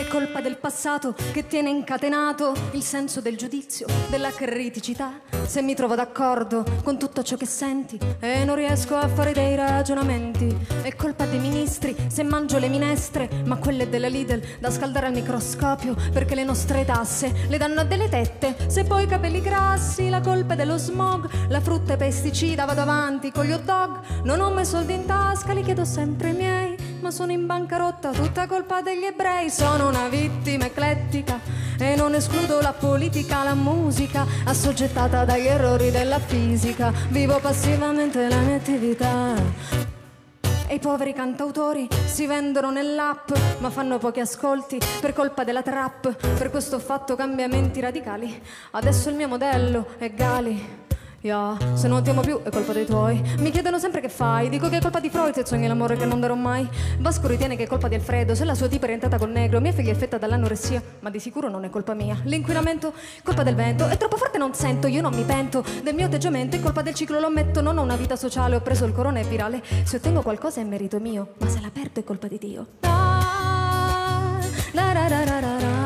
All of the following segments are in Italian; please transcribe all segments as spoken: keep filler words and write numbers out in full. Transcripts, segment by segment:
È colpa del passato che tiene incatenato il senso del giudizio, della criticità. Se mi trovo d'accordo con tutto ciò che senti e non riesco a fare dei ragionamenti, è colpa dei ministri se mangio le minestre, ma quelle della Lidl da scaldare al microscopio, perché le nostre tasse le danno a delle tette. Se poi i capelli grassi, la colpa è dello smog, la frutta è pesticida, vado avanti con gli hot dog. Non ho mai soldi in tasca, li chiedo sempre i miei, ma sono in bancarotta, tutta colpa degli ebrei. Sono una vittima eclettica e non escludo la politica, la musica, assoggettata dagli errori della fisica. Vivo passivamente la mia attività. E i poveri cantautori si vendono nell'app, ma fanno pochi ascolti per colpa della trap. Per questo ho fatto cambiamenti radicali, adesso il mio modello è Gali. Yeah. Se non ti amo più è colpa dei tuoi. Mi chiedono sempre che fai, dico che è colpa di Freud e sogni l'amore che non darò mai. Vasco ritiene che è colpa di Alfredo se la sua tipa è orientata col negro. Mia figlia è affetta dall'anoressia, ma di sicuro non è colpa mia. L'inquinamento è colpa del vento, è troppo forte non sento, io non mi pento del mio atteggiamento, è colpa del ciclo, lo ammetto. Non ho una vita sociale, ho preso il corona, è virale. Se ottengo qualcosa è merito mio, ma se la perdo è colpa di Dio. Ah, la, la, la, la, la, la.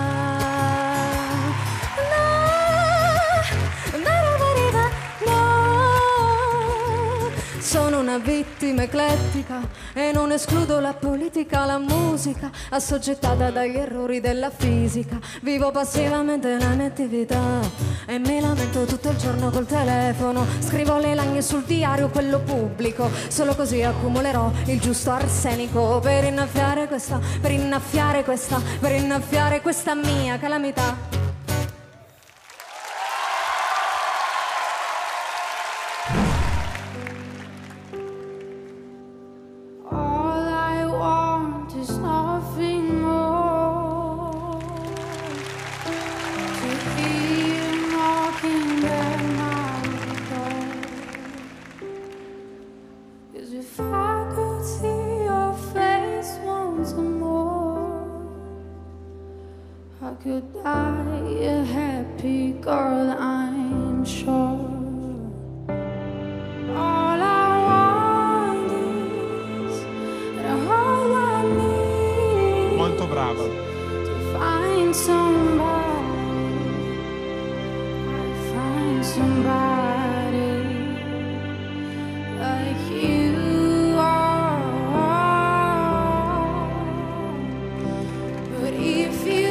Sono una vittima eclettica e non escludo la politica, la musica, assoggettata dagli errori della fisica. Vivo passivamente la mia attività e mi lamento tutto il giorno col telefono. Scrivo le lagne sul diario, quello pubblico, solo così accumulerò il giusto arsenico per innaffiare questa, per innaffiare questa, per innaffiare questa mia calamità. Could die a happy girl, I'm sure. All I want is, and all I need. Molto brava. To find somebody, I find somebody like you are. But if you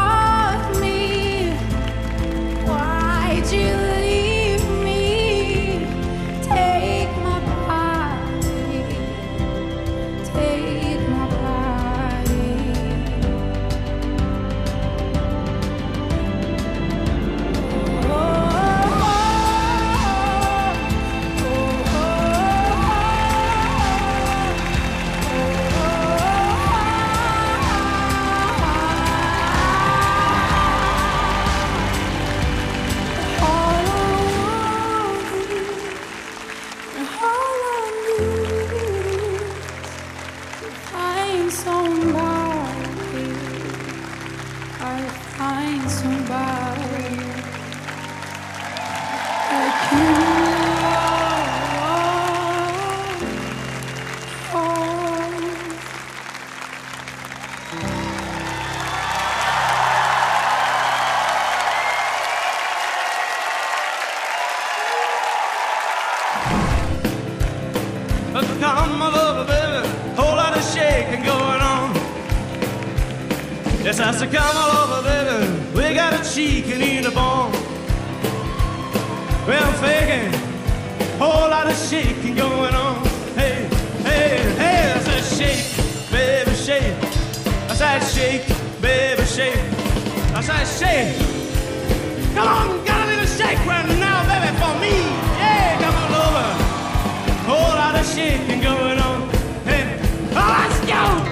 Yes, I said, come all over, baby. We got a chicken in the bone. Well, I'm faking, whole lot of shaking going on. Hey, hey, hey, I said, shake, baby, shake. I said, shake, baby, shake. I said, shake. Come on, got a little shake right now, baby, for me. Yeah, come on over. Whole lot of shaking going on. Hey, oh, let's go.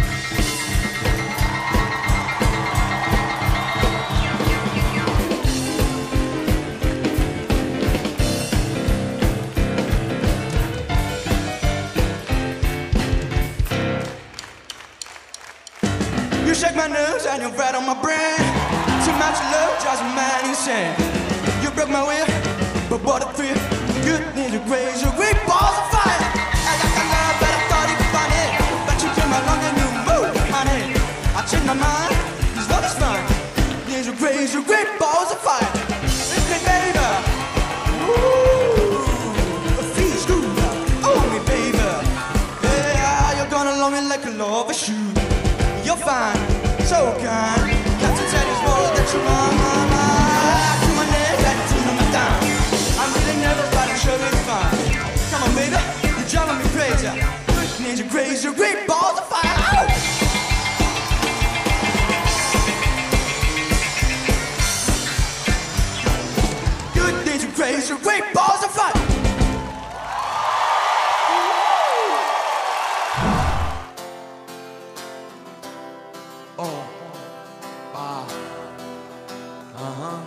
Shake my nerves and you're right on my brain. Too much love drives a man insane. You broke my will, but what a thrill. Good news, you raise your great balls of fire. I got the love, but I thought you'd find it. But you came along and you moved, honey. I took my mind, this love is fine. There's a crazy, great balls of fire. Hey baby, ooh, it feels good. Oh me baby, yeah, you're gonna love me like a lover should. You're fine, so kind. Got to tell this world that you're my, my, my. To my neck, got to know my down. I'm really nervous, but I'm sure it's fine. Come on baby, you're driving me crazy. There's a crazy, great balls of fire. Oh! Crazy, great balls of fire. Oh, ah, uh-huh.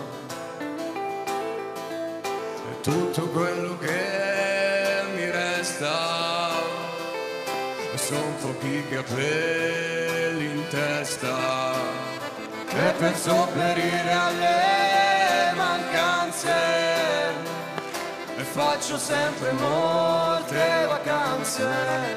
E tutto quello che mi resta sono pochi capelli in testa e per sopperire alle mancanze e faccio sempre molte vacanze,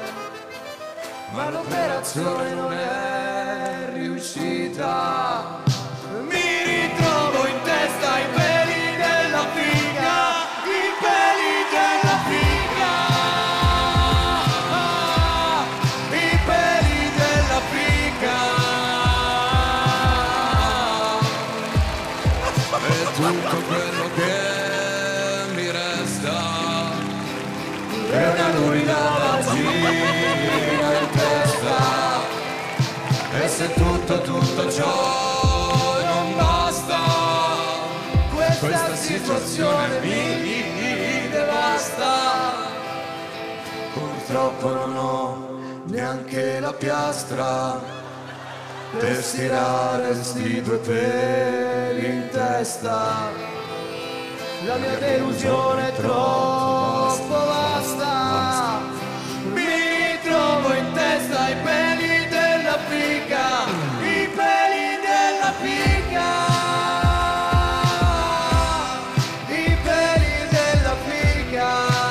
ma l'operazione non è riuscita. Mi ritrovo in testa i peli della figa, i peli della figa, ah, i peli della figa. E tutto quello che è una lumina vagina in testa. E se tutto, tutto ciò non basta, questa, questa situazione mi, mi devasta. Purtroppo non ho neanche la piastra per stirare sti due peli in testa. La mia delusione è troppo vasta. Mi trovo in testa i peli della figa, i peli della figa, i peli della figa.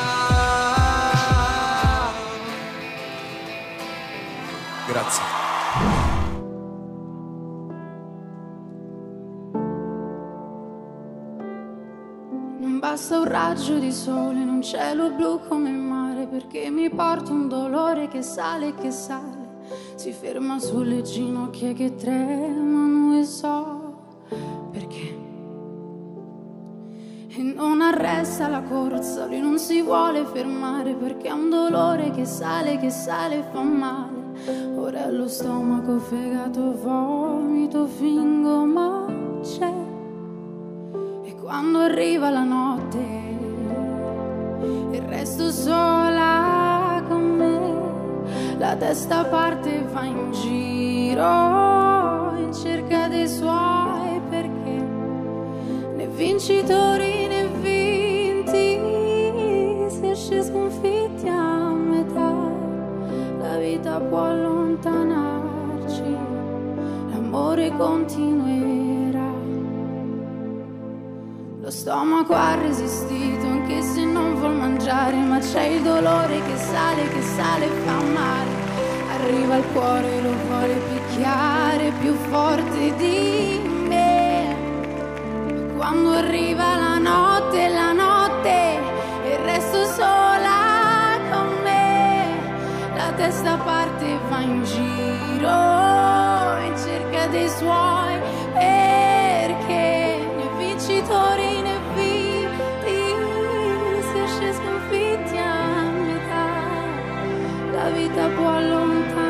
Grazie. Basta un raggio di sole in un cielo blu come il mare, perché mi porta un dolore che sale e che sale, si ferma sulle ginocchia che tremano e so perché. E non arresta la corsa, lui non si vuole fermare, perché è un dolore che sale, che sale e fa male. Ora allo stomaco, fegato, vomito, fingo ma c'è. Quando arriva la notte e resto sola con me, la testa parte e va in giro in cerca dei suoi perché. Né vincitori né vinti, si esce sconfitti a metà. La vita può allontanarci, l'amore continuerà. Lo stomaco ha resistito anche se non vuol mangiare, ma c'è il dolore che sale, che sale e fa male. Arriva il cuore, lo vuole picchiare più forte di me. Quando arriva la notte, la notte, e resto sola con me, la testa parte e va in giro in cerca dei suoi, perché né vincitori né vita può allontanare.